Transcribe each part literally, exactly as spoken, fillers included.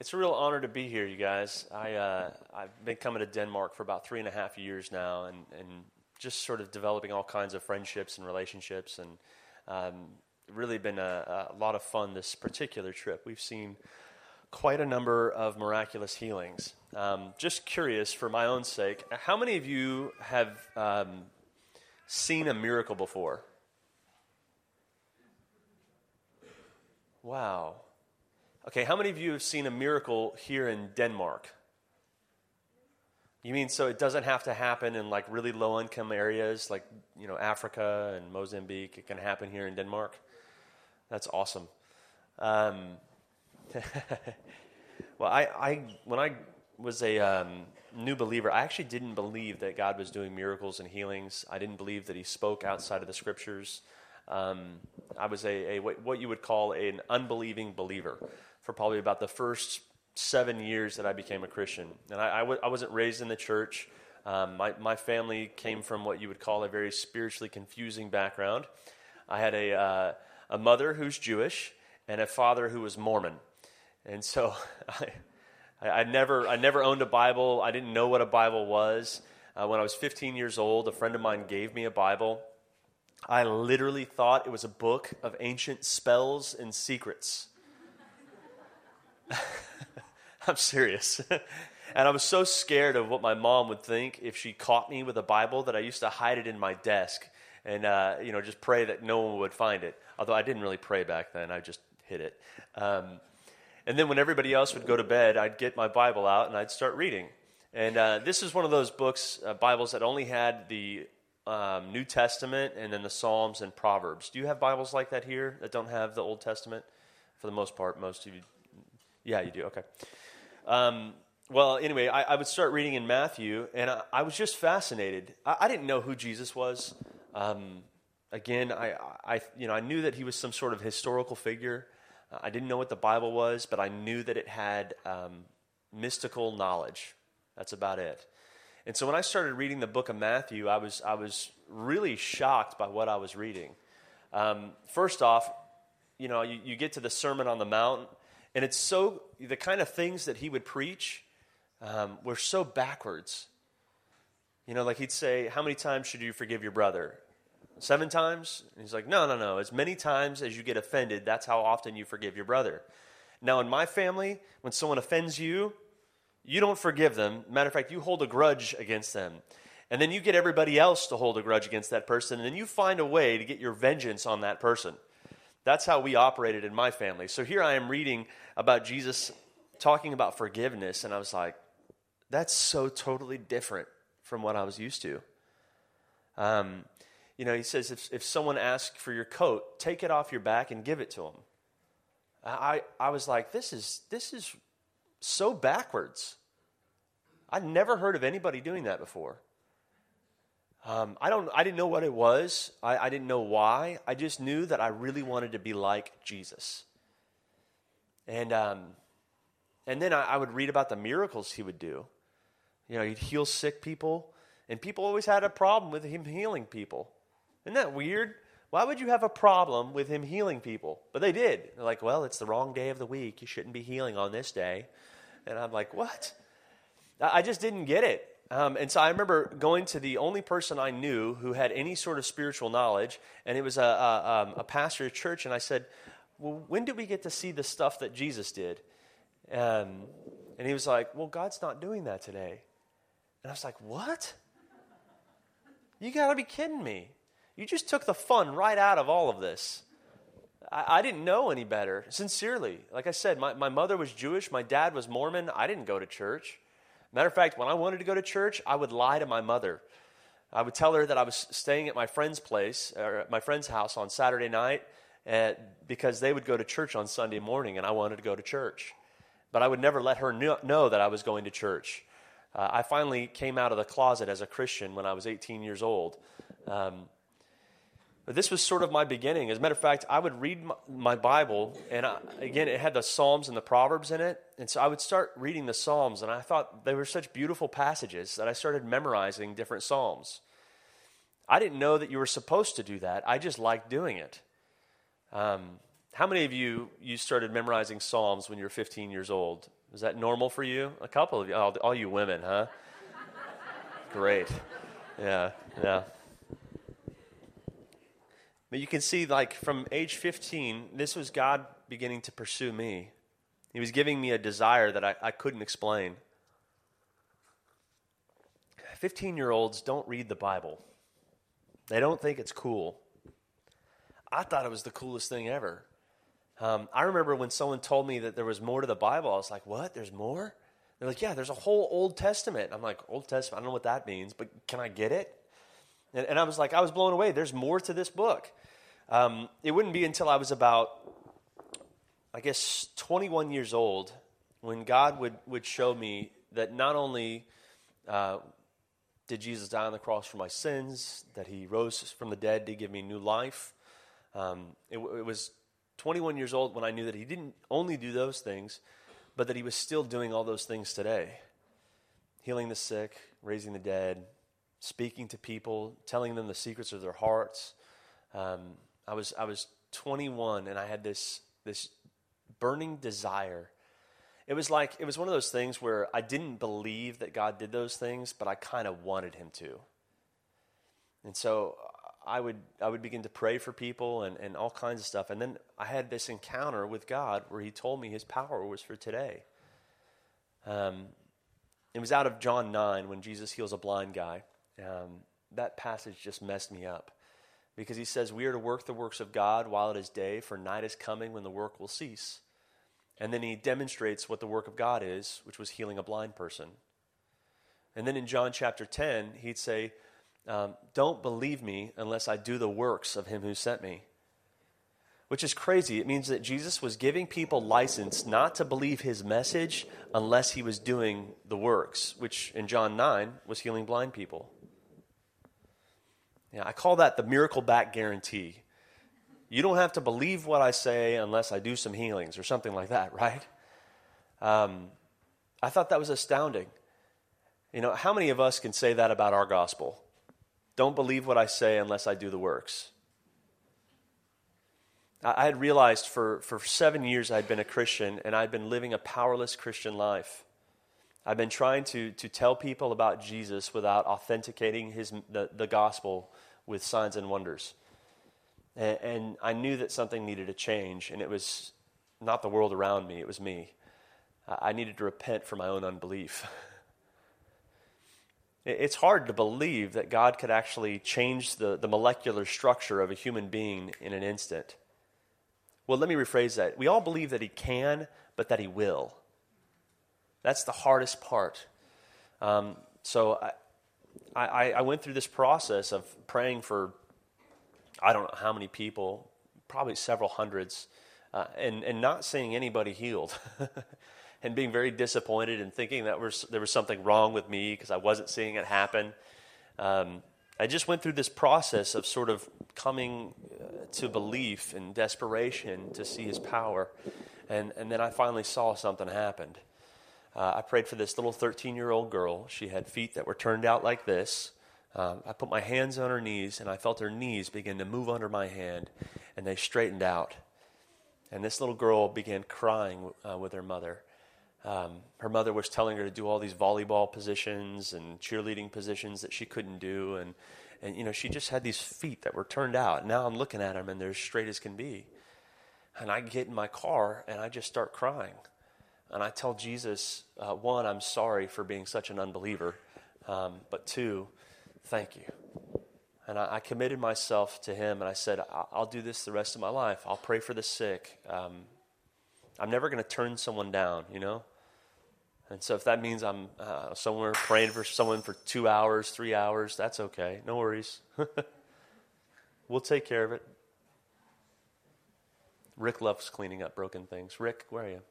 It's a real honor to be here, you guys. I, uh, I've been coming to Denmark for about three and a half years now, and, and just sort of developing all kinds of friendships and relationships, and um, really been a, a lot of fun this particular trip. We've seen quite a number of miraculous healings. Um, just curious, for my own sake, how many of you have um, seen a miracle before? Wow. Okay, how many of you have seen a miracle here in Denmark? You mean so it doesn't have to happen in like really low-income areas like, you know, Africa and Mozambique? It can happen here in Denmark? That's awesome. Um, well, I, I when I was a um, new believer, I actually didn't believe that God was doing miracles and healings. I didn't believe that he spoke outside of the scriptures. Um, I was a, a what you would call an unbelieving believer for probably about the first seven years that I became a Christian. And I, I, w- I wasn't raised in the church. Um, my, my family came from what you would call a very spiritually confusing background. I had a, uh, a mother who's Jewish and a father who was Mormon. And so I, I never I never owned a Bible. I didn't know what a Bible was. Uh, when I was fifteen years old, a friend of mine gave me a Bible. I literally thought it was a book of ancient spells and secrets. I'm serious. And I was so scared of what my mom would think if she caught me with a Bible that I used to hide it in my desk and uh, you know just pray that no one would find it. Although I didn't really pray back then. I just hid it. Um, and then when everybody else would go to bed, I'd get my Bible out and I'd start reading. And uh, this is one of those books, uh, Bibles that only had the Um, New Testament and then the Psalms and Proverbs. Do you have Bibles like that here that don't have the Old Testament? For the most part, most of you. Yeah, you do. Okay. Um, well, anyway, I, I would start reading in Matthew, and I, I was just fascinated. I, I didn't know who Jesus was. Um, again, I, I, you know, I knew that he was some sort of historical figure. Uh, I didn't know what the Bible was, but I knew that it had um, mystical knowledge. That's about it. And so when I started reading the book of Matthew, I was I was really shocked by what I was reading. Um, first off, you know, you, you get to the Sermon on the Mount, and it's so, the kind of things that he would preach um, were so backwards. You know, like he'd say, how many times should you forgive your brother? Seven times? And he's like, no, no, no. As many times as you get offended, that's how often you forgive your brother. Now, in my family, when someone offends you, you don't forgive them. Matter of fact, you hold a grudge against them. And then you get everybody else to hold a grudge against that person, and then you find a way to get your vengeance on that person. That's how we operated in my family. So here I am reading about Jesus talking about forgiveness, and I was like, that's so totally different from what I was used to. Um, you know, he says, if, if someone asks for your coat, take it off your back and give it to them. I, I was like, this is this is... so backwards. I'd never heard of anybody doing that before. Um, I don't. I didn't know what it was. I, I didn't know why. I just knew that I really wanted to be like Jesus. And um, and then I, I would read about the miracles he would do. You know, he'd heal sick people, and people always had a problem with him healing people. Isn't that weird? Why would you have a problem with him healing people? But they did. They're like, well, it's the wrong day of the week. You shouldn't be healing on this day. And I'm like, what? I just didn't get it. Um, and so I remember going to the only person I knew who had any sort of spiritual knowledge, and it was a, a, um, a pastor at church, and I said, well, when did we get to see the stuff that Jesus did? Um, and he was like, well, God's not doing that today. And I was like, what? You got to be kidding me. You just took the fun right out of all of this. I, I didn't know any better, sincerely. Like I said, my, my mother was Jewish. My dad was Mormon. I didn't go to church. Matter of fact, when I wanted to go to church, I would lie to my mother. I would tell her that I was staying at my friend's place, or at my friend's house on Saturday night, uh, because they would go to church on Sunday morning, and I wanted to go to church. But I would never let her know, know that I was going to church. Uh, I finally came out of the closet as a Christian when I was eighteen years old. Um, But this was sort of my beginning. As a matter of fact, I would read my, my Bible, and I, again, it had the Psalms and the Proverbs in it. And so I would start reading the Psalms, and I thought they were such beautiful passages that I started memorizing different Psalms. I didn't know that you were supposed to do that. I just liked doing it. Um, How many of you, you started memorizing Psalms when you were fifteen years old? Was that normal for you? A couple of you. All, all you women, huh? Great. Yeah, yeah. But you can see, like, from age fifteen, this was God beginning to pursue me. He was giving me a desire that I, I couldn't explain. fifteen-year-olds don't read the Bible. They don't think it's cool. I thought it was the coolest thing ever. Um, I remember when someone told me that there was more to the Bible, I was like, what? There's more? They're like, yeah, there's a whole Old Testament. I'm like, Old Testament? I don't know what that means, but can I get it? And, and I was like, I was blown away. There's more to this book. Um, it wouldn't be until I was about, I guess, twenty-one years old when God would, would show me that not only uh, did Jesus die on the cross for my sins, that he rose from the dead to give me new life. Um, it, it was twenty-one years old when I knew that he didn't only do those things, but that he was still doing all those things today. Healing the sick, raising the dead, speaking to people, telling them the secrets of their hearts. Um, I was I was twenty-one and I had this this burning desire. It was like it was one of those things where I didn't believe that God did those things, but I kind of wanted him to. And so I would I would begin to pray for people and, and all kinds of stuff. And then I had this encounter with God where he told me his power was for today. Um, it was out of John nine when Jesus heals a blind guy. Um, that passage just messed me up because he says we are to work the works of God while it is day, for night is coming when the work will cease. And then he demonstrates what the work of God is, which was healing a blind person. And then in John chapter ten, he'd say, Um, don't believe me unless I do the works of him who sent me. Which is crazy. It means that Jesus was giving people license not to believe his message unless he was doing the works, which in John nine was healing blind people. Yeah, I call that the miracle back guarantee. You don't have to believe what I say unless I do some healings or something like that, right? Um, I thought that was astounding. You know, how many of us can say that about our gospel? Don't believe what I say unless I do the works. I had realized for, for seven years I'd been a Christian and I'd been living a powerless Christian life. I've been trying to, to tell people about Jesus without authenticating his the, the gospel with signs and wonders. And, and I knew that something needed to change, and it was not the world around me, it was me. I needed to repent for my own unbelief. It's hard to believe that God could actually change the, the molecular structure of a human being in an instant. Well, let me rephrase that. We all believe that he can, but that he will. That's the hardest part. Um, so I, I, I went through this process of praying for, I don't know how many people, probably several hundreds, uh, and, and not seeing anybody healed. And being very disappointed and thinking that was, there was something wrong with me because I wasn't seeing it happen. Um, I just went through this process of sort of coming uh, to belief and desperation to see his power. And, and then I finally saw something happened. Uh, I prayed for this little thirteen-year-old girl. She had feet that were turned out like this. Um, I put my hands on her knees, and I felt her knees begin to move under my hand, and they straightened out. And this little girl began crying uh, with her mother. Um, her mother was telling her to do all these volleyball positions and cheerleading positions that she couldn't do. And, and you know, she just had these feet that were turned out. And now I'm looking at them, and they're as straight as can be. And I get in my car, and I just start crying. And I tell Jesus, uh, one, I'm sorry for being such an unbeliever. Um, but two, thank you. And I, I committed myself to him, and I said, I'll do this the rest of my life. I'll pray for the sick. Um, I'm never going to turn someone down, you know? And so if that means I'm uh, somewhere praying for someone for two hours, three hours, that's okay. No worries. We'll take care of it. Rick loves cleaning up broken things. Rick, where are you?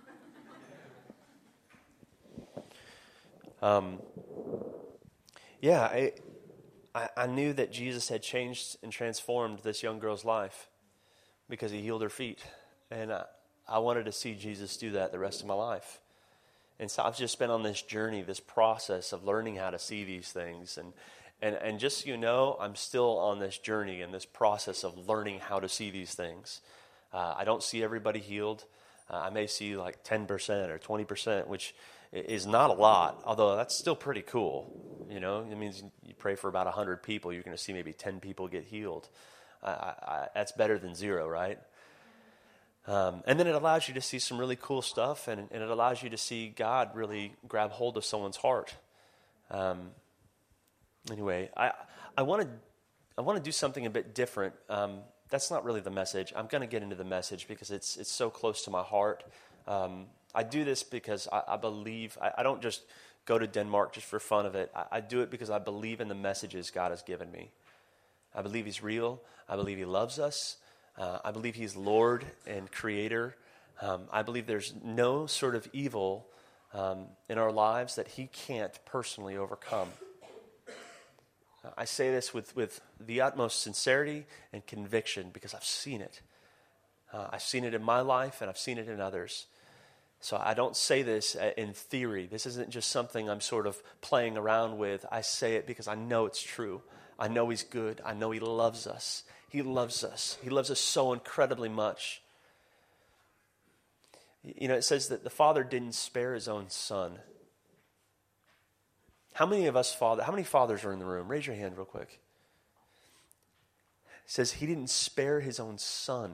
Um, yeah, I, I I knew that Jesus had changed and transformed this young girl's life because he healed her feet. And I, I wanted to see Jesus do that the rest of my life. And so I've just been on this journey, this process of learning how to see these things. And, and, and just so you know, I'm still on this journey and this process of learning how to see these things. Uh, I don't see everybody healed. Uh, I may see like ten percent or twenty percent, which is not a lot, although that's still pretty cool. You know, it means you pray for about one hundred people, you're going to see maybe ten people get healed. I, I, that's better than zero, right? Um, and then it allows you to see some really cool stuff, and, and it allows you to see God really grab hold of someone's heart. Um, anyway, I I want to I want to do something a bit different. Um, that's not really the message. I'm going to get into the message because it's it's so close to my heart. Um, I do this because I, I believe I, I don't just go to Denmark just for fun of it. I, I do it because I believe in the messages God has given me. I believe He's real. I believe He loves us. Uh, I believe He's Lord and Creator. Um, I believe there's no sort of evil um, in our lives that He can't personally overcome. Uh, I say this with, with the utmost sincerity and conviction because I've seen it. Uh, I've seen it in my life and I've seen it in others. So I don't say this in theory. This isn't just something I'm sort of playing around with. I say it because I know it's true. I know He's good. I know He loves us. He loves us. He loves us so incredibly much. You know, it says that the Father didn't spare His own Son. How many of us father? How many fathers are in the room? Raise your hand real quick. It says He didn't spare His own Son.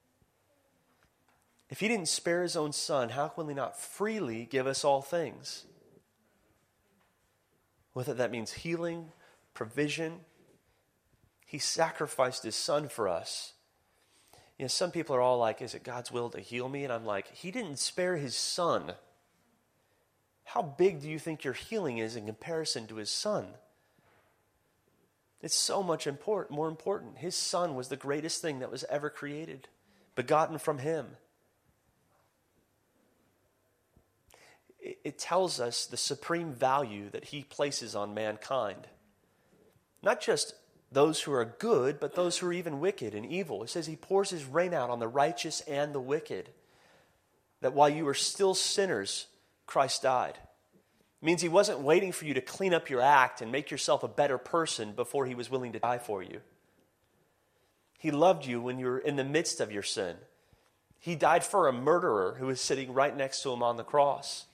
If He didn't spare His own Son, how will He not freely give us all things? Whether that means healing, provision. He sacrificed His Son for us. You know, some people are all like, is it God's will to heal me? And I'm like, He didn't spare His Son. How big do you think your healing is in comparison to His Son? It's so much important, more important. His Son was the greatest thing that was ever created, begotten from Him. It, it tells us the supreme value that He places on mankind. Not just those who are good, but those who are even wicked and evil. It says He pours His rain out on the righteous and the wicked. That while you were still sinners, Christ died. It means He wasn't waiting for you to clean up your act and make yourself a better person before He was willing to die for you. He loved you when you were in the midst of your sin. He died for a murderer who was sitting right next to Him on the cross.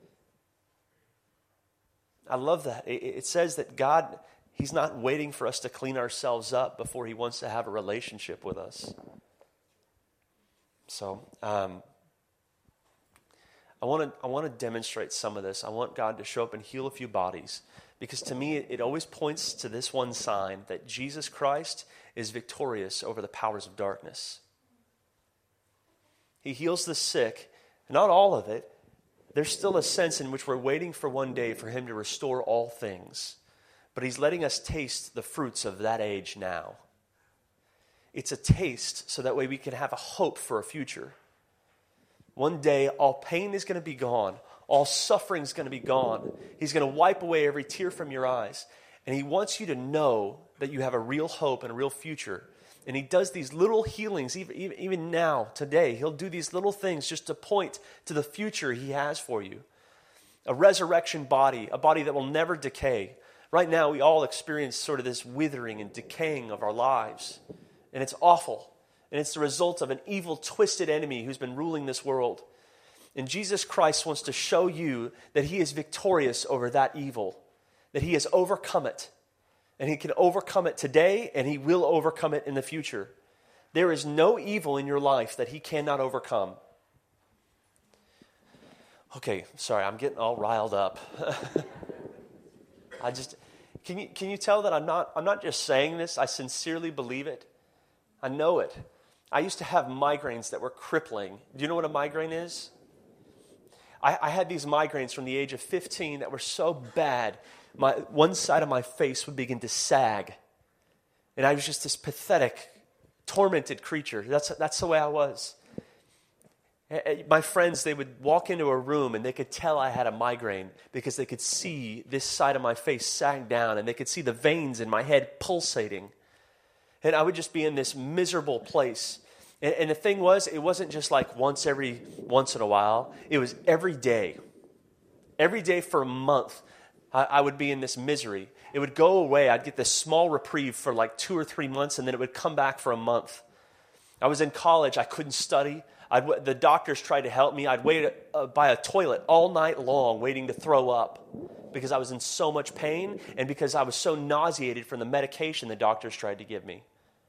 I love that. It, it says that God... He's not waiting for us to clean ourselves up before He wants to have a relationship with us. So, um, I want to I want to demonstrate some of this. I want God to show up and heal a few bodies. Because to me, it, it always points to this one sign, that Jesus Christ is victorious over the powers of darkness. He heals the sick, not all of it. There's still a sense in which we're waiting for one day for Him to restore all things. But He's letting us taste the fruits of that age now. It's a taste so that way we can have a hope for a future. One day, all pain is going to be gone. All suffering is going to be gone. He's going to wipe away every tear from your eyes. And He wants you to know that you have a real hope and a real future. And He does these little healings, even, even, even now, today. He'll do these little things just to point to the future He has for you. A resurrection body, a body that will never decay. Right now, we all experience sort of this withering and decaying of our lives. And it's awful. And it's the result of an evil, twisted enemy who's been ruling this world. And Jesus Christ wants to show you that He is victorious over that evil. That He has overcome it. And He can overcome it today, and He will overcome it in the future. There is no evil in your life that He cannot overcome. Okay, sorry, I'm getting all riled up. I just, can you can you tell that I'm not I'm not just saying this, I sincerely believe it. I know it. I used to have migraines that were crippling. Do you know what a migraine is? I, I had these migraines from the age of fifteen that were so bad, my one side of my face would begin to sag. And I was just this pathetic, tormented creature. That's that's the way I was. My friends, they would walk into a room and they could tell I had a migraine because they could see this side of my face sag down and they could see the veins in my head pulsating. And I would just be in this miserable place. And, and the thing was, it wasn't just like once every once in a while. It was every day. Every day for a month, I, I would be in this misery. It would go away. I'd get this small reprieve for like two or three months and then it would come back for a month. I was in college. I couldn't study. I'd, the doctors tried to help me. I'd wait uh, by a toilet all night long waiting to throw up because I was in so much pain and because I was so nauseated from the medication the doctors tried to give me.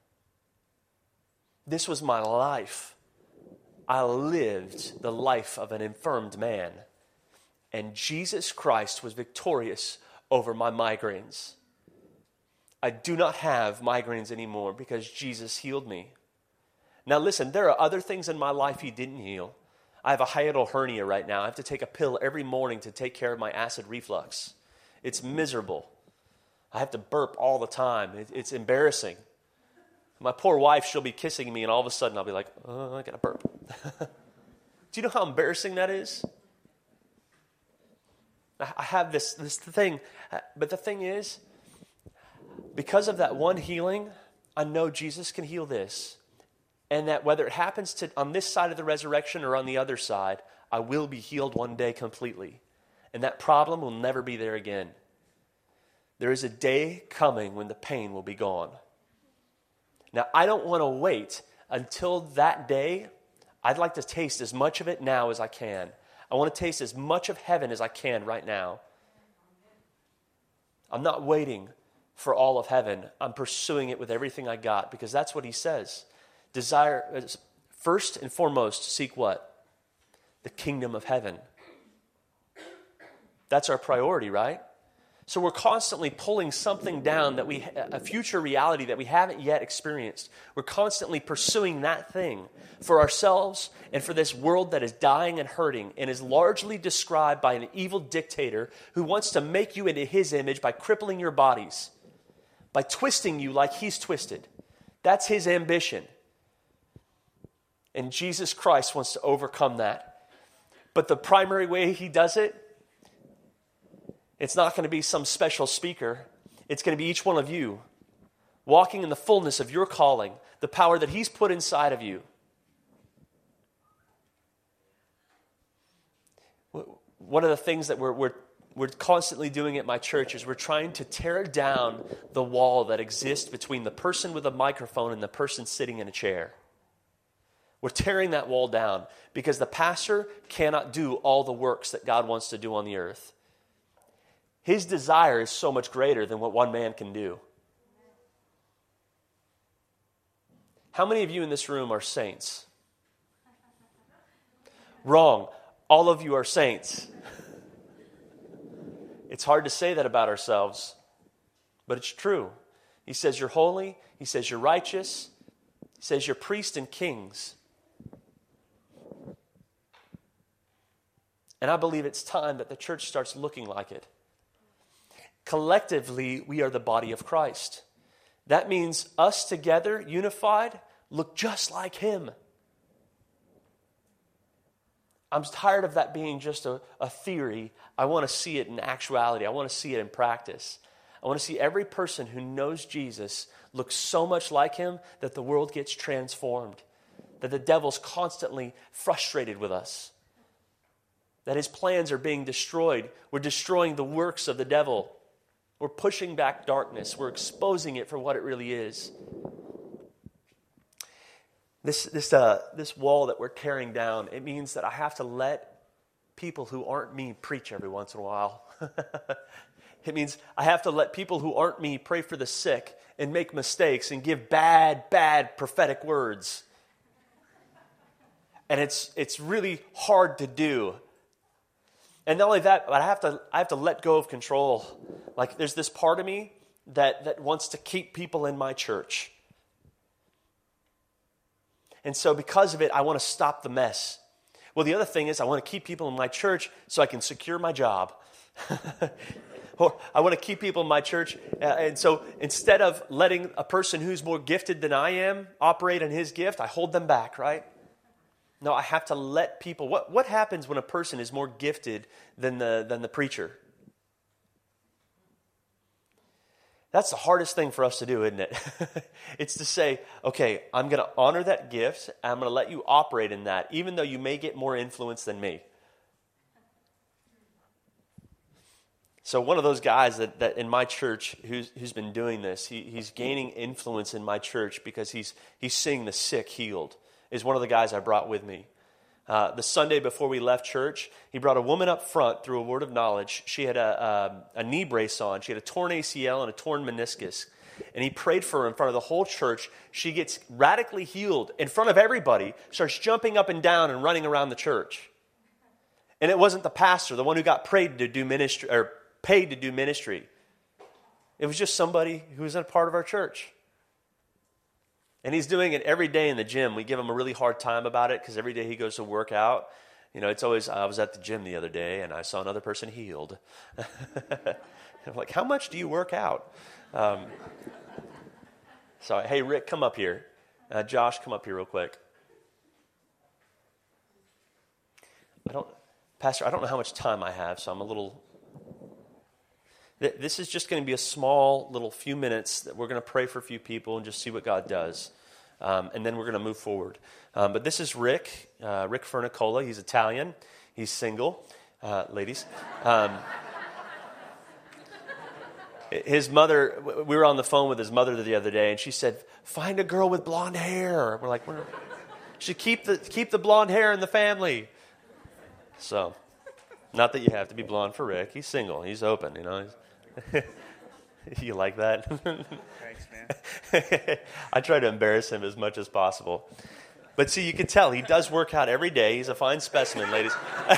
This was my life. I lived the life of an infirmed man. And Jesus Christ was victorious over my migraines. I do not have migraines anymore because Jesus healed me. Now listen, there are other things in my life he didn't heal. I have a hiatal hernia right now. I have to take a pill every morning to take care of my acid reflux. It's miserable. I have to burp all the time. It, it's embarrassing. My poor wife, she'll be kissing me and all of a sudden I'll be like, oh, I got to burp. Do you know how embarrassing that is? I have this, this thing, but the thing is, because of that one healing, I know Jesus can heal this. And that whether it happens to on this side of the resurrection or on the other side, I will be healed one day completely. And that problem will never be there again. There is a day coming when the pain will be gone. Now, I don't want to wait until that day. I'd like to taste as much of it now as I can. I want to taste as much of heaven as I can right now. I'm not waiting for all of heaven. I'm pursuing it with everything I got because that's what he says. Desire, first and foremost, seek what? The kingdom of heaven. That's our priority, right? So we're constantly pulling something down, that we a future reality that we haven't yet experienced. We're constantly pursuing that thing for ourselves and for this world that is dying and hurting and is largely described by an evil dictator who wants to make you into his image by crippling your bodies, by twisting you like he's twisted. That's his ambition. And Jesus Christ wants to overcome that. But the primary way he does it, it's not going to be some special speaker. It's going to be each one of you walking in the fullness of your calling, the power that he's put inside of you. One of the things that we're, we're, we're constantly doing at my church is we're trying to tear down the wall that exists between the person with a microphone and the person sitting in a chair. We're tearing that wall down because the pastor cannot do all the works that God wants to do on the earth. His desire is so much greater than what one man can do. How many of you in this room are saints? Wrong. All of you are saints. It's hard to say that about ourselves, but it's true. He says you're holy. He says you're righteous. He says you're priests and kings. And I believe it's time that the church starts looking like it. Collectively, we are the body of Christ. That means us together, unified, look just like him. I'm tired of that being just a, a theory. I want to see it in actuality. I want to see it in practice. I want to see every person who knows Jesus look so much like him that the world gets transformed, that the devil's constantly frustrated with us, that his plans are being destroyed. We're destroying the works of the devil. We're pushing back darkness. We're exposing it for what it really is. This, this, uh, this wall that we're tearing down, it means that I have to let people who aren't me preach every once in a while. It means I have to let people who aren't me pray for the sick and make mistakes and give bad, bad prophetic words. And it's it's really hard to do. And not only that, but I have to I have to let go of control. Like there's this part of me that, that wants to keep people in my church. And so because of it, I want to stop the mess. Well, the other thing is I want to keep people in my church so I can secure my job. Or I want to keep people in my church. Uh, and so instead of letting a person who's more gifted than I am operate in his gift, I hold them back, right? No, I have to let people. What, what happens when a person is more gifted than the, than the preacher? That's the hardest thing for us to do, isn't it? It's to say, okay, I'm going to honor that gift. And I'm going to let you operate in that, even though you may get more influence than me. So one of those guys that, that in my church who's, who's been doing this, he, he's gaining influence in my church because he's he's seeing the sick healed, is one of the guys I brought with me. Uh, the Sunday before we left church, he brought a woman up front through a word of knowledge. She had a, a, a knee brace on. She had a torn A C L and a torn meniscus. And he prayed for her in front of the whole church. She gets radically healed in front of everybody, starts jumping up and down and running around the church. And it wasn't the pastor, the one who got prayed to do ministry or paid to do ministry. It was just somebody who was a part of our church. And he's doing it every day in the gym. We give him a really hard time about it because every day he goes to work out. You know, it's always, I was at the gym the other day and I saw another person healed. I'm like, how much do you work out? Um, so, hey, Rick, come up here. Uh, Josh, come up here real quick. I don't, Pastor, I don't know how much time I have, so I'm a little... This is just going to be a small little few minutes that we're going to pray for a few people and just see what God does. Um, and then we're going to move forward. Um, but this is Rick, uh, Rick Fernicola. He's Italian. He's single, uh, ladies. Um, his mother, we were on the phone with his mother the other day, and she said, find a girl with blonde hair. We're like, we're, should keep the, keep the blonde hair in the family. So, not that you have to be blonde for Rick. He's single. He's open, you know. He's, you like that? Thanks, man. I try to embarrass him as much as possible. But see, you can tell he does work out every day. He's a fine specimen, ladies.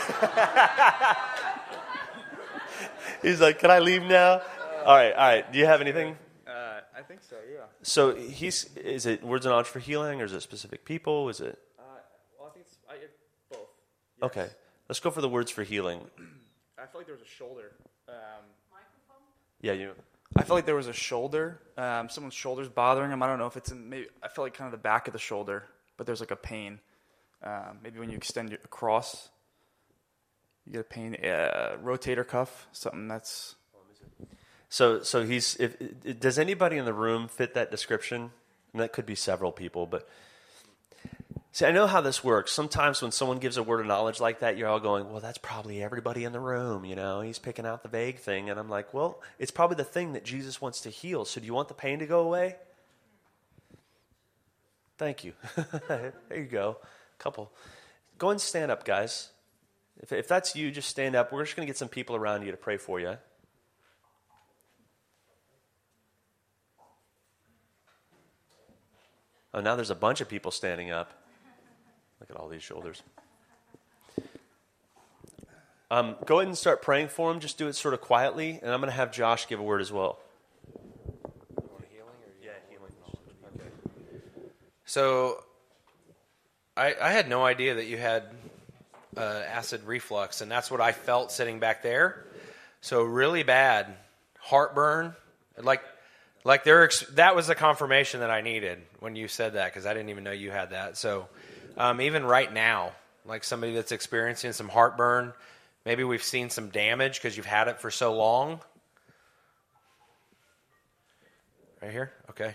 He's like, can I leave now? All right, all right. Do you have anything? Uh, I think so, yeah. So he's, is it words and knowledge for healing, or is it specific people? Is it? Uh, well, I think it's I, both. Yes. Okay. Let's go for the words for healing. I feel like there was a shoulder. Um, Yeah, you. I feel like there was a shoulder. Um, someone's shoulder's bothering him. I don't know if it's in maybe. I feel like kind of the back of the shoulder, but there's like a pain. Um, maybe when you extend it across, you get a pain. Uh, rotator cuff, something that's. So, so he's. If, does anybody in the room fit that description? And that could be several people, but. See, I know how this works. Sometimes when someone gives a word of knowledge like that, you're all going, well, that's probably everybody in the room, you know. He's picking out the vague thing. And I'm like, well, it's probably the thing that Jesus wants to heal. So do you want the pain to go away? Thank you. There you go. Couple. Go and stand up, guys. If, if that's you, just stand up. We're just going to get some people around you to pray for you. Oh, now there's a bunch of people standing up. Look at all these shoulders. Um, go ahead and start praying for him. Just do it sort of quietly, and I'm going to have Josh give a word as well. Healing or yeah, healing. Okay. So, I, I had no idea that you had uh, acid reflux, and that's what I felt sitting back there. So really bad heartburn, like like there. That was the confirmation that I needed when you said that, because I didn't even know you had that. So. Um, even right now, like somebody that's experiencing some heartburn, maybe we've seen some damage because you've had it for so long. Right here? Okay.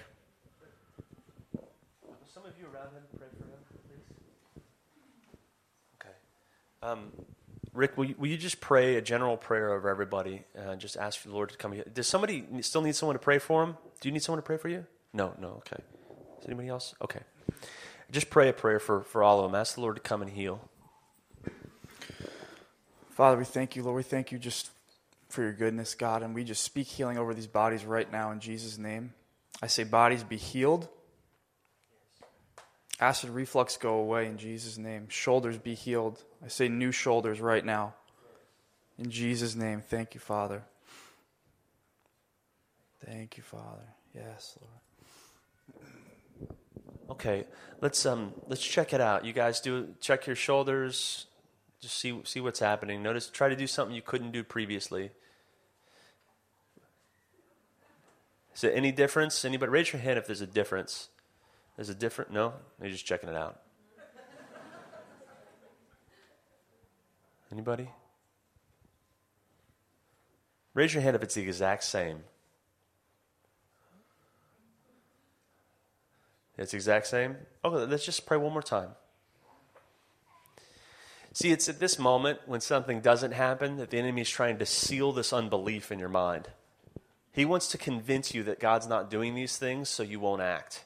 Some of you around him, pray for him, please. Okay. Um, Rick, will you, will you just pray a general prayer over everybody and just ask for the Lord to come here? Does somebody still need someone to pray for him? Do you need someone to pray for you? No, no, okay. Is anybody else? Okay. Just pray a prayer for, for all of them. Ask the Lord to come and heal. Father, we thank you, Lord. We thank you just for your goodness, God, and we just speak healing over these bodies right now in Jesus' name. I say bodies be healed. Acid reflux go away in Jesus' name. Shoulders be healed. I say new shoulders right now. In Jesus' name, thank you, Father. Thank you, Father. Yes, Lord. Okay, let's um let's check it out. You guys do check your shoulders, just see see what's happening. Notice, try to do something you couldn't do previously. Is there any difference? Anybody raise your hand if there's a difference? There's a different no? You're just checking it out. Anybody? Raise your hand if it's the exact same. It's the exact same? Okay, let's just pray one more time. See, it's at this moment when something doesn't happen that the enemy is trying to seal this unbelief in your mind. He wants to convince you that God's not doing these things so you won't act.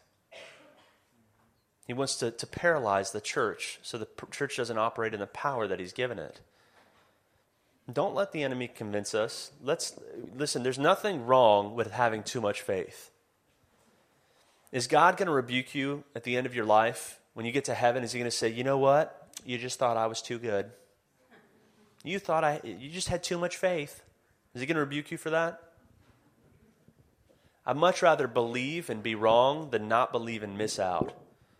He wants to, to paralyze the church so the p- church doesn't operate in the power that he's given it. Don't let the enemy convince us. Let's listen, there's nothing wrong with having too much faith. Is God going to rebuke you at the end of your life? When you get to heaven, is he going to say, you know what? You just thought I was too good. You thought I, you just had too much faith. Is he going to rebuke you for that? I'd much rather believe and be wrong than not believe and miss out.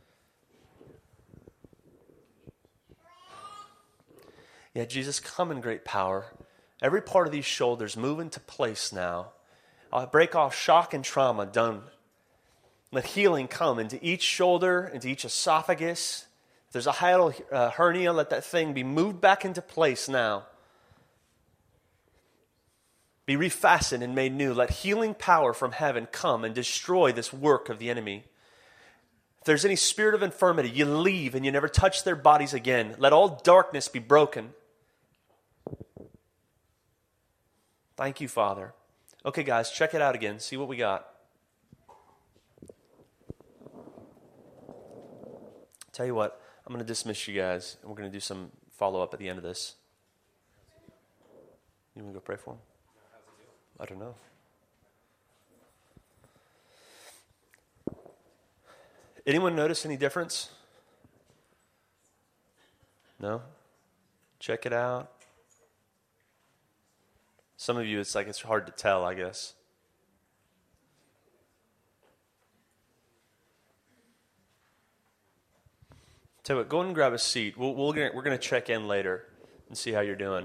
Yeah, Jesus, come in great power. Every part of these shoulders move into place now. I'll break off shock and trauma. Done. Let healing come into each shoulder, into each esophagus. If there's a hiatal uh, hernia, let that thing be moved back into place now. Be refastened and made new. Let healing power from heaven come and destroy this work of the enemy. If there's any spirit of infirmity, you leave and you never touch their bodies again. Let all darkness be broken. Thank you, Father. Okay, guys, check it out again. See what we got. Tell you what, I'm going to dismiss you guys, and we're going to do some follow-up at the end of this. You want to go pray for him? I don't know. Anyone notice any difference? No? Check it out. Some of you, it's like it's hard to tell, I guess. Tell you what, go ahead and grab a seat. We'll, we'll, we're going to check in later and see how you're doing.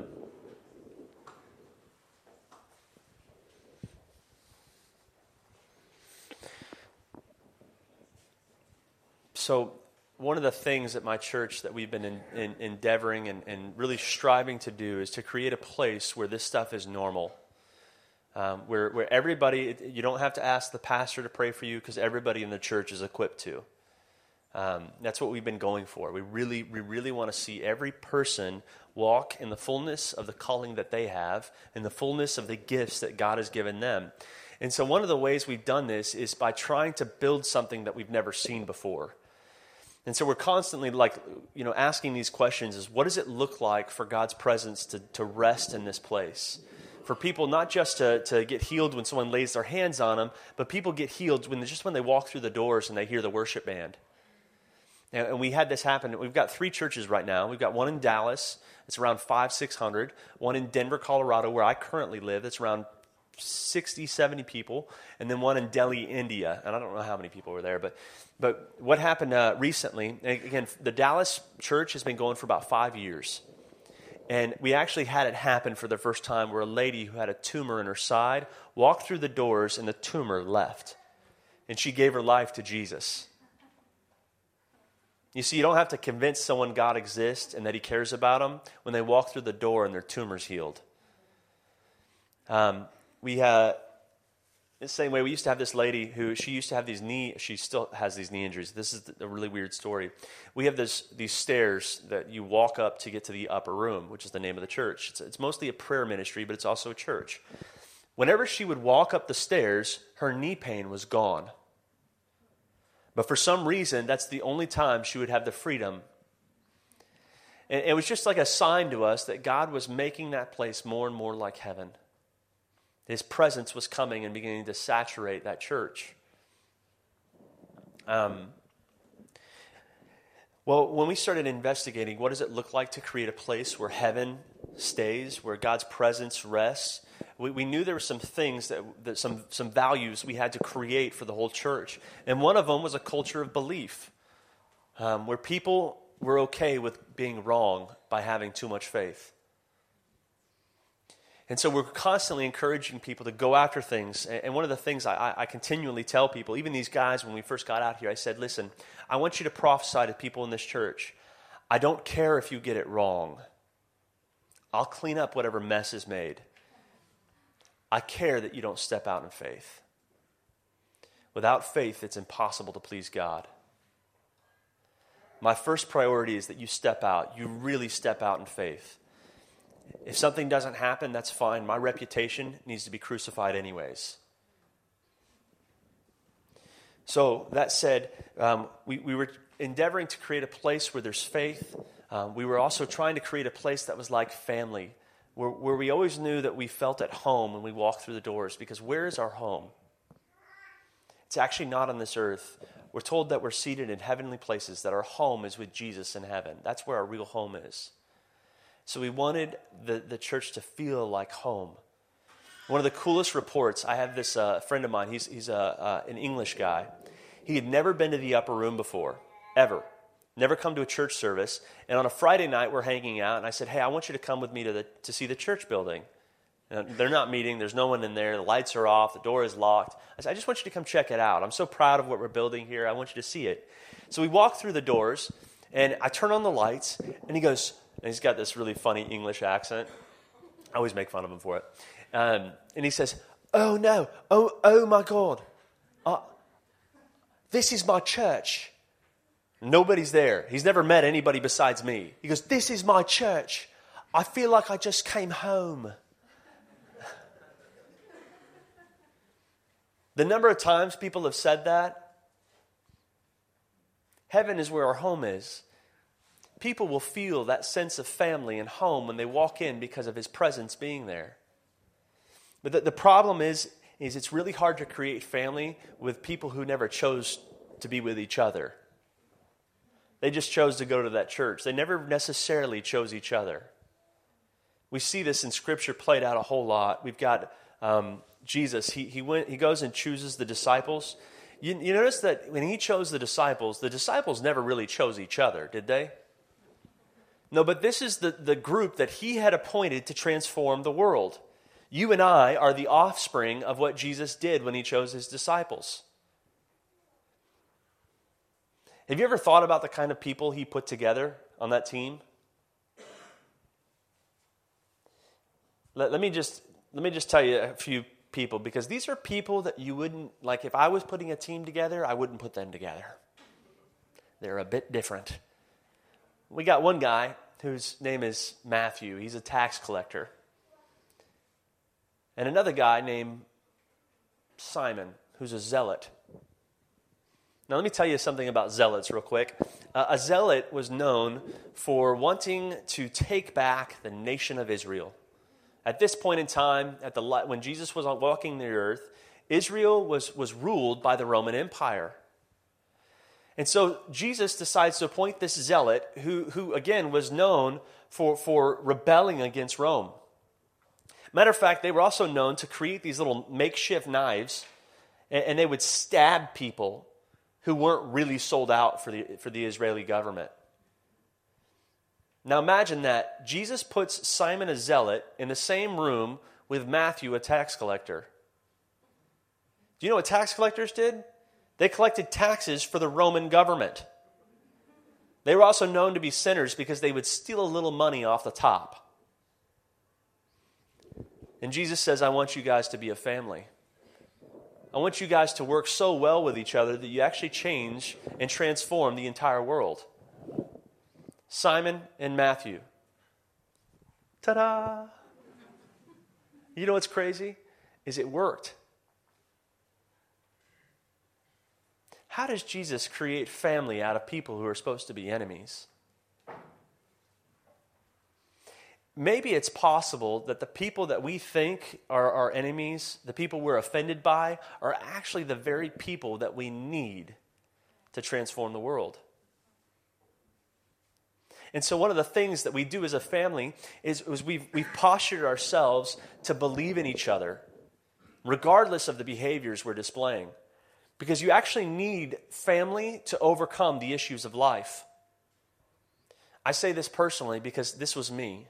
So one of the things at my church that we've been in, in, endeavoring and, and really striving to do is to create a place where this stuff is normal. Um, where, where everybody, you don't have to ask the pastor to pray for you because everybody in the church is equipped to. Um, that's what we've been going for. We really, we really want to see every person walk in the fullness of the calling that they have, in the fullness of the gifts that God has given them. And so one of the ways we've done this is by trying to build something that we've never seen before. And so we're constantly like, you know, asking these questions is what does it look like for God's presence to, to rest in this place? For people not just to, to get healed when someone lays their hands on them, but people get healed when just when they walk through the doors and they hear the worship band. And, and we had this happen. We've got three churches right now. We've got one in Dallas. It's around five, six hundred. One in Denver, Colorado, where I currently live. It's around sixty, seventy people. And then one in Delhi, India. And I don't know how many people were there, but But what happened uh, recently, again, the Dallas church has been going for about five years. And we actually had it happen for the first time where a lady who had a tumor in her side walked through the doors and the tumor left. And she gave her life to Jesus. You see, you don't have to convince someone God exists and that he cares about them when they walk through the door and their tumor's healed. Um, we uh, the same way, we used to have this lady who, she used to have these knee, she still has these knee injuries. This is a really weird story. We have this these stairs that you walk up to get to the upper room, which is the name of the church. It's, it's mostly a prayer ministry, but it's also a church. Whenever she would walk up the stairs, her knee pain was gone. But for some reason, that's the only time she would have the freedom. And it was just like a sign to us that God was making that place more and more like heaven. His presence was coming and beginning to saturate that church. Um, well, when we started investigating, what does it look like to create a place where heaven stays, where God's presence rests, we, we knew there were some things, that, that some, some values we had to create for the whole church. And one of them was a culture of belief, um, where people were okay with being wrong by having too much faith. And so we're constantly encouraging people to go after things. And one of the things I, I continually tell people, even these guys when we first got out here, I said, listen, I want you to prophesy to people in this church. I don't care if you get it wrong. I'll clean up whatever mess is made. I care that you don't step out in faith. Without faith, it's impossible to please God. my first priority is that you step out. You really step out in faith. If something doesn't happen, that's fine. My reputation needs to be crucified anyways. So that said, um, we, we were endeavoring to create a place where there's faith. Um, we were also trying to create a place that was like family, where, where we always knew that we felt at home when we walked through the doors. Because where is our home? It's actually not on this earth. We're told that we're seated in heavenly places, that our home is with Jesus in heaven. That's where our real home is. So we wanted the, the church to feel like home. One of the coolest reports, I have this uh, friend of mine, he's, he's a, uh, an English guy. He had never been to the upper room before, ever. Never come to a church service. And on a Friday night, we're hanging out, and I said, hey, I want you to come with me to, the, to see the church building. And they're not meeting, there's no one in there, the lights are off, the door is locked. I said, I just want you to come check it out. I'm so proud of what we're building here, I want you to see it. So we walk through the doors, and I turn on the lights, and he goes, and he's got this really funny English accent. I always make fun of him for it. Um, and he says, oh no, oh oh my God, uh, this is my church. Nobody's there. He's never met anybody besides me. He goes, this is my church. I feel like I just came home. The number of times people have said that, heaven is where our home is. People will feel that sense of family and home when they walk in because of his presence being there. But the, the problem is, is it's really hard to create family with people who never chose to be with each other. They just chose to go to that church. They never necessarily chose each other. We see this in Scripture played out a whole lot. We've got um, Jesus. He he went. He goes and chooses the disciples. You, you notice that when he chose the disciples, the disciples never really chose each other, did they? No, but this is the, the group that he had appointed to transform the world. You and I are the offspring of what Jesus did when he chose his disciples. Have you ever thought about the kind of people he put together on that team? Let, let me just let me just tell you a few people, because these are people that you wouldn't, like if I was putting a team together, I wouldn't put them together. They're a bit different. We got one guy whose name is Matthew. He's a tax collector. And another guy named Simon, who's a zealot. Now, let me tell you something about zealots real quick. Uh, a zealot was known for wanting to take back the nation of Israel. At this point in time, at the when Jesus was walking the earth, Israel was, was ruled by the Roman Empire. And so Jesus decides to appoint this zealot who, who again, was known for, for rebelling against Rome. Matter of fact, they were also known to create these little makeshift knives, and, and they would stab people who weren't really sold out for the, for the Israeli government. Now imagine that. Jesus puts Simon a zealot in the same room with Matthew, a tax collector. Do you know what tax collectors did? They collected taxes for the Roman government. They were also known to be sinners because they would steal a little money off the top. And Jesus says, I want you guys to be a family. I want you guys to work so well with each other that you actually change and transform the entire world. Simon and Matthew. Ta-da! You know what's crazy? Is it worked. How does Jesus create family out of people who are supposed to be enemies? Maybe it's possible that the people that we think are our enemies, the people we're offended by, are actually the very people that we need to transform the world. And so one of the things that we do as a family is, is we've, we've postured ourselves to believe in each other, regardless of the behaviors we're displaying. Because you actually need family to overcome the issues of life. I say this personally because this was me.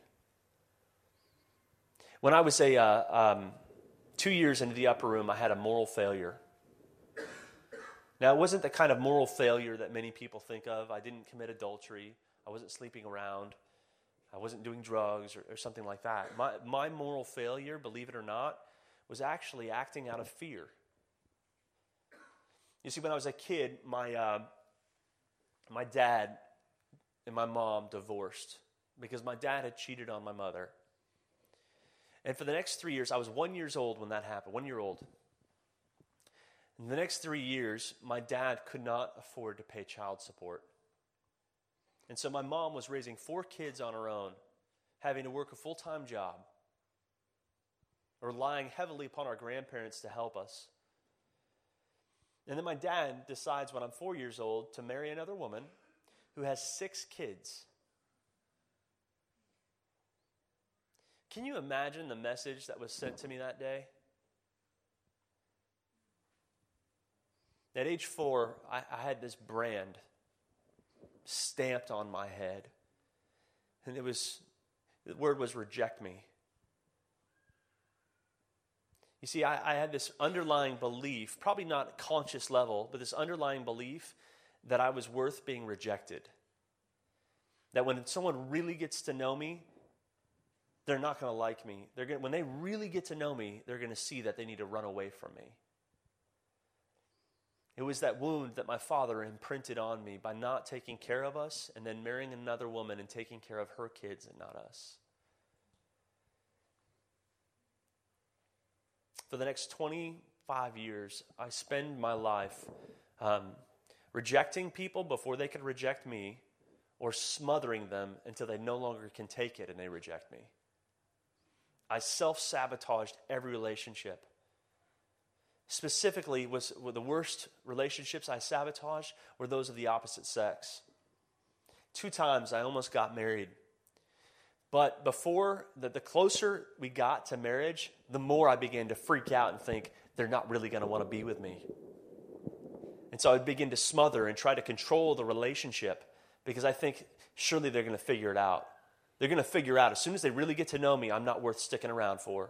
When I was a uh, um, two years into the upper room, I had a moral failure. Now, it wasn't the kind of moral failure that many people think of. I didn't commit adultery. I wasn't sleeping around. I wasn't doing drugs or, or something like that. My, my moral failure, believe it or not, was actually acting out of fear. You see, when I was a kid, my uh, my dad and my mom divorced because my dad had cheated on my mother. And for the next three years, I was one years old when that happened, one year old. In the next three years, my dad could not afford to pay child support. And so my mom was raising four kids on her own, having to work a full-time job, relying heavily upon our grandparents to help us. And then my dad decides when I'm four years old to marry another woman who has six kids. Can you imagine the message that was sent to me that day? At age four, I, I had this brand stamped on my head. And it was, the word was reject me. You see, I, I had this underlying belief, probably not at conscious level, but this underlying belief that I was worth being rejected. That when someone really gets to know me, they're not going to like me. They're going when they really get to know me, they're going to see that they need to run away from me. It was that wound that my father imprinted on me by not taking care of us and then marrying another woman and taking care of her kids and not us. For the next twenty-five years, I spend my life um, rejecting people before they could reject me, or smothering them until they no longer can take it and they reject me. I self-sabotaged every relationship. Specifically, was, were the worst relationships I sabotaged were those of the opposite sex. Two times I almost got married. But before, the, the closer we got to marriage, the more I began to freak out and think, they're not really going to want to be with me. And so I would begin to smother and try to control the relationship because I think, surely they're going to figure it out. They're going to figure out, as soon as they really get to know me, I'm not worth sticking around for.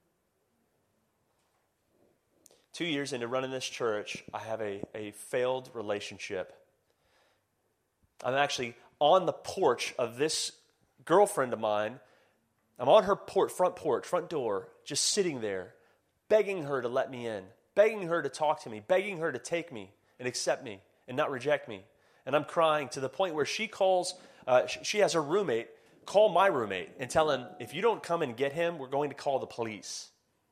Two years into running this church, I have a, a failed relationship. I'm actually on the porch of this girlfriend of mine. I'm on her port, front porch, front door, just sitting there, begging her to let me in, begging her to talk to me, begging her to take me and accept me and not reject me. And I'm crying to the point where she calls, uh, she, she has her roommate, call my roommate and tell him, if you don't come and get him, we're going to call the police.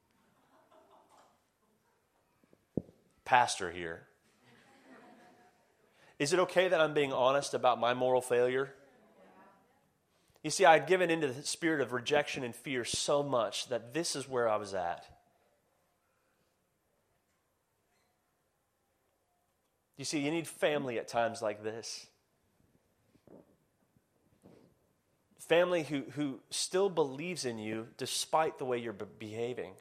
Pastor here. Is it okay that I'm being honest about my moral failure? You see, I had given into the spirit of rejection and fear so much that this is where I was at. You see, you need family at times like this. Family who, who still believes in you despite the way you're be- behaving.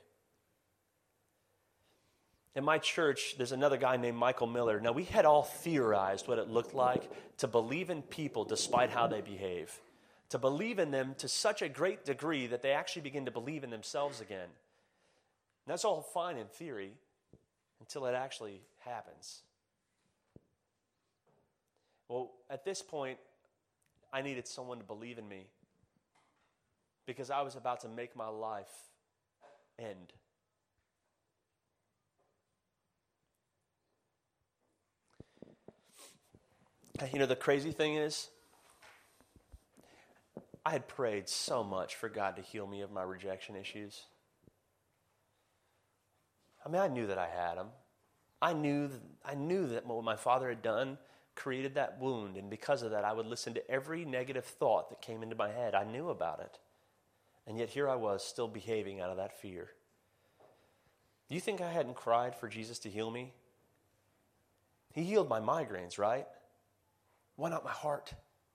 In my church, there's another guy named Michael Miller. Now, we had all theorized what it looked like to believe in people despite how they behave. To believe in them to such a great degree that they actually begin to believe in themselves again. And that's all fine in theory until it actually happens. Well, at this point, I needed someone to believe in me because I was about to make my life end. You know, the crazy thing is, I had prayed so much for God to heal me of my rejection issues. I mean, I knew that I had them. I knew, that, I knew that what my father had done created that wound, and because of that, I would listen to every negative thought that came into my head. I knew about it. And yet here I was, still behaving out of that fear. Do you think I hadn't cried for Jesus to heal me? He healed my migraines, right? Why not my heart?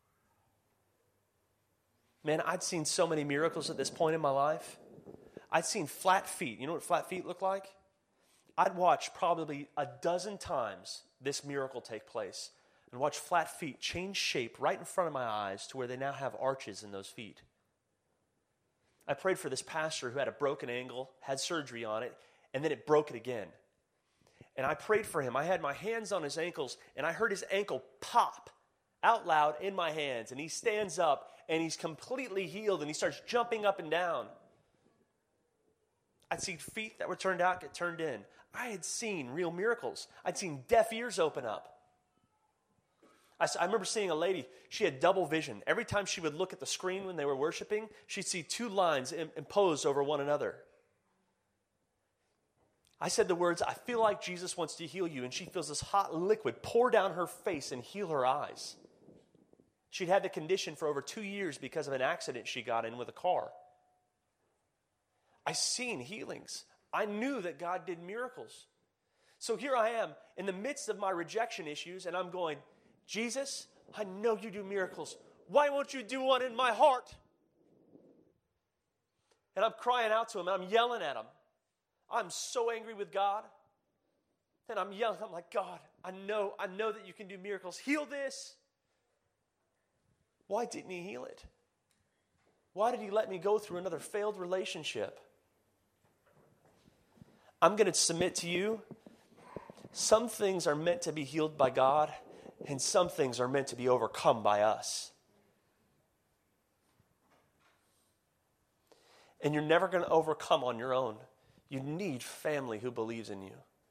Man, I'd seen so many miracles at this point in my life. I'd seen flat feet. You know what flat feet look like? I'd watch probably a dozen times this miracle take place and watch flat feet change shape right in front of my eyes to where they now have arches in those feet. I prayed for this pastor who had a broken ankle, had surgery on it, and then it broke it again. And I prayed for him. I had my hands on his ankles, and I heard his ankle pop out loud in my hands. And he stands up, and he's completely healed, and he starts jumping up and down. I'd seen feet that were turned out get turned in. I had seen real miracles. I'd seen deaf ears open up. I, s- I remember seeing a lady, she had double vision. Every time she would look at the screen when they were worshiping, she'd see two lines im- imposed over one another. I said the words, I feel like Jesus wants to heal you, and she feels this hot liquid pour down her face and heal her eyes. She'd had the condition for over two years because of an accident she got in with a car. I seen healings. I knew that God did miracles. So here I am in the midst of my rejection issues, and I'm going, Jesus, I know you do miracles. Why won't you do one in my heart? And I'm crying out to him, and I'm yelling at him. I'm so angry with God. And I'm yelling, I'm like, God, I know, I know that you can do miracles. Heal this. Why didn't he heal it? Why did he let me go through another failed relationship? I'm going to submit to you. Some things are meant to be healed by God, and some things are meant to be overcome by us. And you're never going to overcome on your own. You need family who believes in you.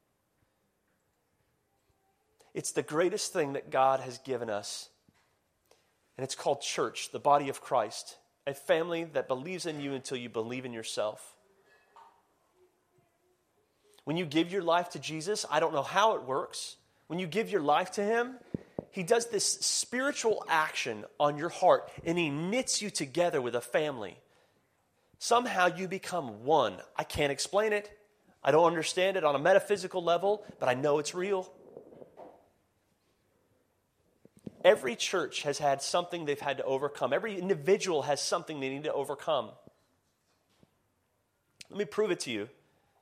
It's the greatest thing that God has given us. And it's called church, the body of Christ. A family that believes in you until you believe in yourself. When you give your life to Jesus, I don't know how it works. When you give your life to him, he does this spiritual action on your heart, and he knits you together with a family. Somehow you become one. I can't explain it. I don't understand it on a metaphysical level, but I know it's real. Every church has had something they've had to overcome. Every individual has something they need to overcome. Let me prove it to you.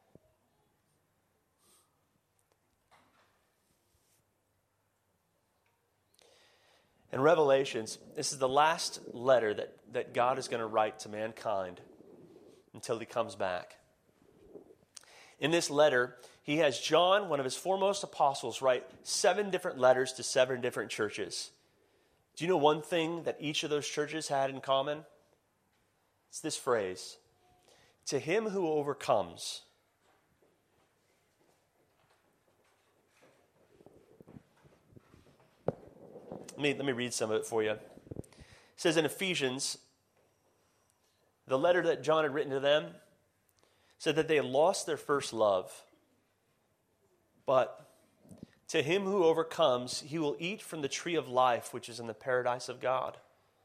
In Revelations, this is the last letter that, that God is going to write to mankind until he comes back. In this letter, he has John, one of his foremost apostles, write seven different letters to seven different churches. Do you know one thing that each of those churches had in common? It's this phrase, to him who overcomes. Let me, let me read some of it for you. It says in Ephesians, the letter that John had written to them said that they had lost their first love. But to him who overcomes, he will eat from the tree of life, which is in the paradise of God.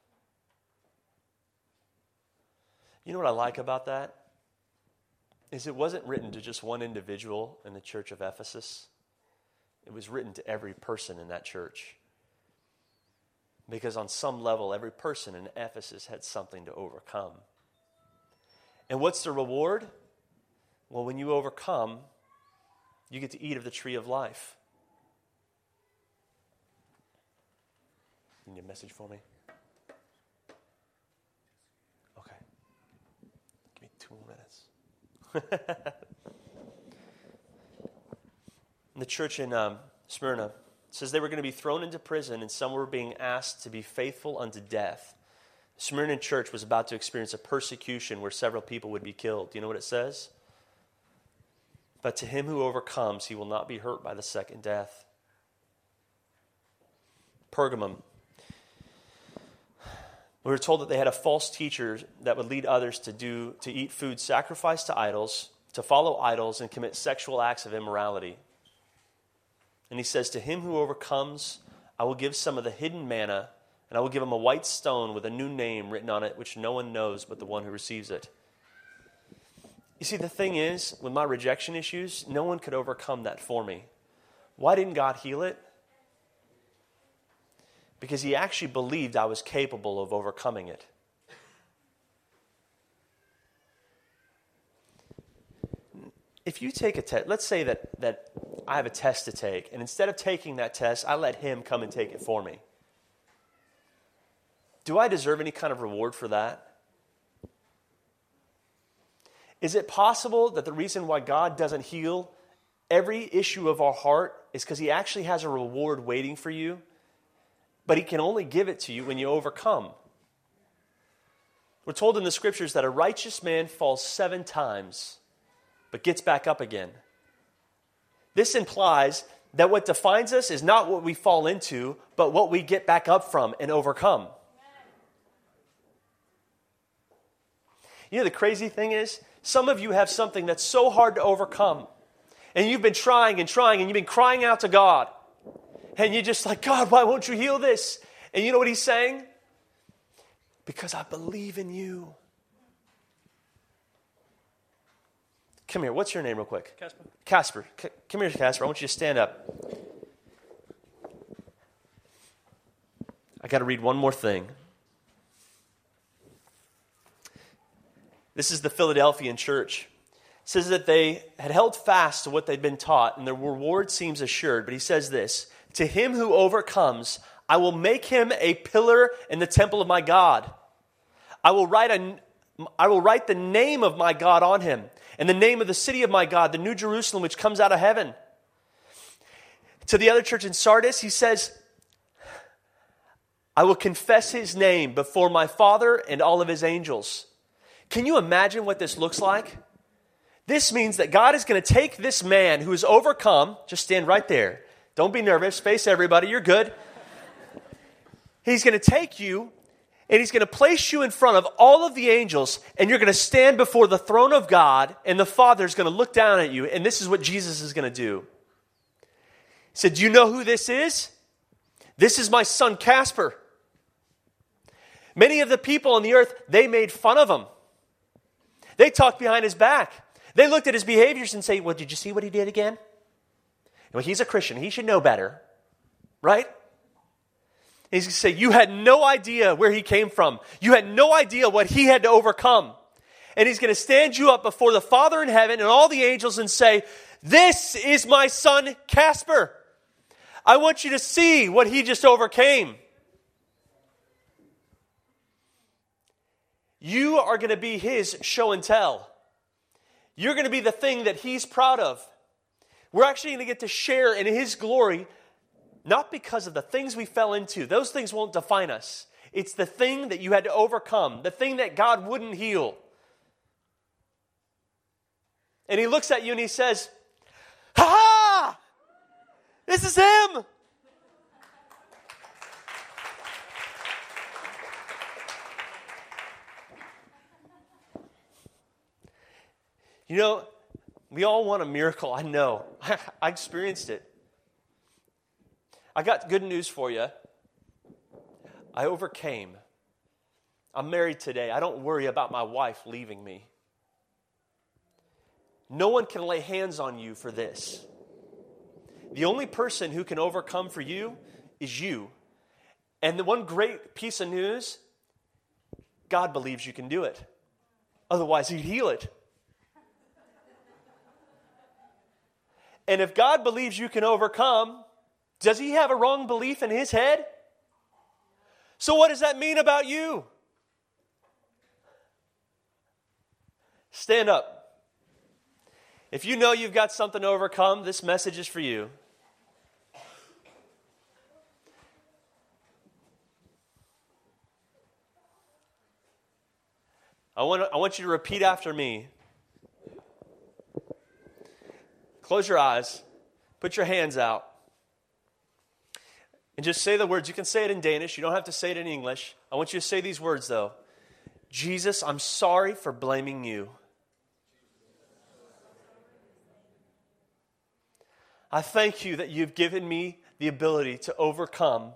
You know what I like about that? Is it wasn't written to just one individual in the church of Ephesus. It was written to every person in that church. Because on some level, every person in Ephesus had something to overcome. And what's the reward? Well, when you overcome, you get to eat of the tree of life. You need a message for me? Okay. Give me two more minutes. In the church in um, Smyrna, it says they were going to be thrown into prison, and some were being asked to be faithful unto death. The Smyrna church was about to experience a persecution where several people would be killed. Do you know what it says? But to him who overcomes, he will not be hurt by the second death. Pergamum. We were told that they had a false teacher that would lead others to do to eat food sacrificed to idols, to follow idols, and commit sexual acts of immorality. And he says, to him who overcomes, I will give some of the hidden manna, and I will give him a white stone with a new name written on it, which no one knows but the one who receives it. You see, the thing is, with my rejection issues, no one could overcome that for me. Why didn't God heal it? Because he actually believed I was capable of overcoming it. If you take a test, let's say that, that I have a test to take, and instead of taking that test, I let him come and take it for me. Do I deserve any kind of reward for that? Is it possible that the reason why God doesn't heal every issue of our heart is because he actually has a reward waiting for you, but he can only give it to you when you overcome? We're told in the scriptures that a righteous man falls seven times, but gets back up again. This implies that what defines us is not what we fall into, but what we get back up from and overcome. You know, the crazy thing is, some of you have something that's so hard to overcome. And you've been trying and trying, and you've been crying out to God. And you're just like, God, why won't you heal this? And you know what he's saying? Because I believe in you. Come here. What's your name real quick? Casper. Casper. C- come here, Casper. I want you to stand up. I got to read one more thing. This is the Philadelphian church. It says that they had held fast to what they'd been taught, and their reward seems assured. But he says this, to him who overcomes, I will make him a pillar in the temple of my God. I will write a, I will write the name of my God on him, and the name of the city of my God, the New Jerusalem, which comes out of heaven. To the other church in Sardis, he says, I will confess his name before my Father and all of his angels. Can you imagine what this looks like? This means that God is going to take this man who has overcome, just stand right there. Don't be nervous. Face everybody. You're good. He's going to take you and he's going to place you in front of all of the angels, and you're going to stand before the throne of God, and the Father is going to look down at you, and this is what Jesus is going to do. He said, do you know who this is? This is my son Casper. Many of the people on the earth, they made fun of him. They talked behind his back. They looked at his behaviors and say, well, did you see what he did again? Well, he's a Christian. He should know better. Right? He's going to say, you had no idea where he came from. You had no idea what he had to overcome. And he's going to stand you up before the Father in heaven and all the angels and say, this is my son Casper. I want you to see what he just overcame. You are going to be his show and tell. You're going to be the thing that he's proud of. We're actually going to get to share in his glory, not because of the things we fell into. Those things won't define us. It's the thing that you had to overcome, the thing that God wouldn't heal. And he looks at you and he says, ha ha! This is him! You know, we all want a miracle. I know. I experienced it. I got good news for you. I overcame. I'm married today. I don't worry about my wife leaving me. No one can lay hands on you for this. The only person who can overcome for you is you. And the one great piece of news, God believes you can do it. Otherwise, he'd heal it. And if God believes you can overcome, does he have a wrong belief in his head? So what does that mean about you? Stand up. If you know you've got something to overcome, this message is for you. I want, I want you to repeat after me. Close your eyes. Put your hands out. And just say the words. You can say it in Danish. You don't have to say it in English. I want you to say these words, though. Jesus, I'm sorry for blaming you. I thank you that you've given me the ability to overcome.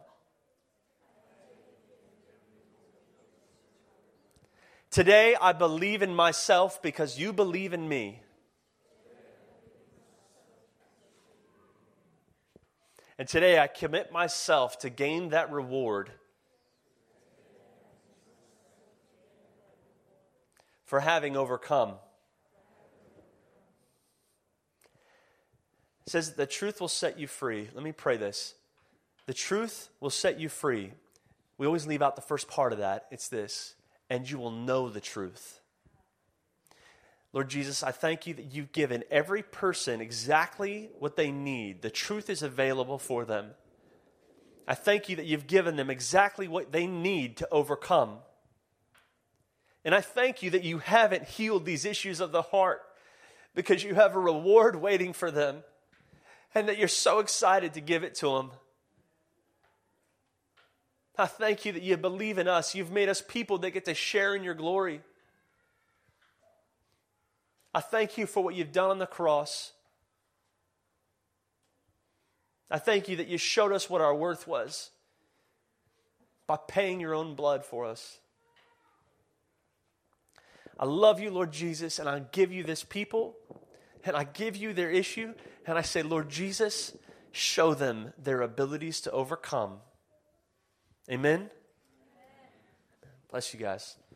Today, I believe in myself because you believe in me. And today I commit myself to gain that reward for having overcome. It says that the truth will set you free. Let me pray this. The truth will set you free. We always leave out the first part of that. It's this. And you will know the truth. Lord Jesus, I thank you that you've given every person exactly what they need. The truth is available for them. I thank you that you've given them exactly what they need to overcome. And I thank you that you haven't healed these issues of the heart because you have a reward waiting for them. and that you're so excited to give it to them. I thank you that you believe in us. You've made us people that get to share in your glory. I thank you for what you've done on the cross. I thank you that you showed us what our worth was by paying your own blood for us. I love you, Lord Jesus, and I give you this people, and I give you their issue, and I say, Lord Jesus, show them their abilities to overcome. Amen? Bless you guys.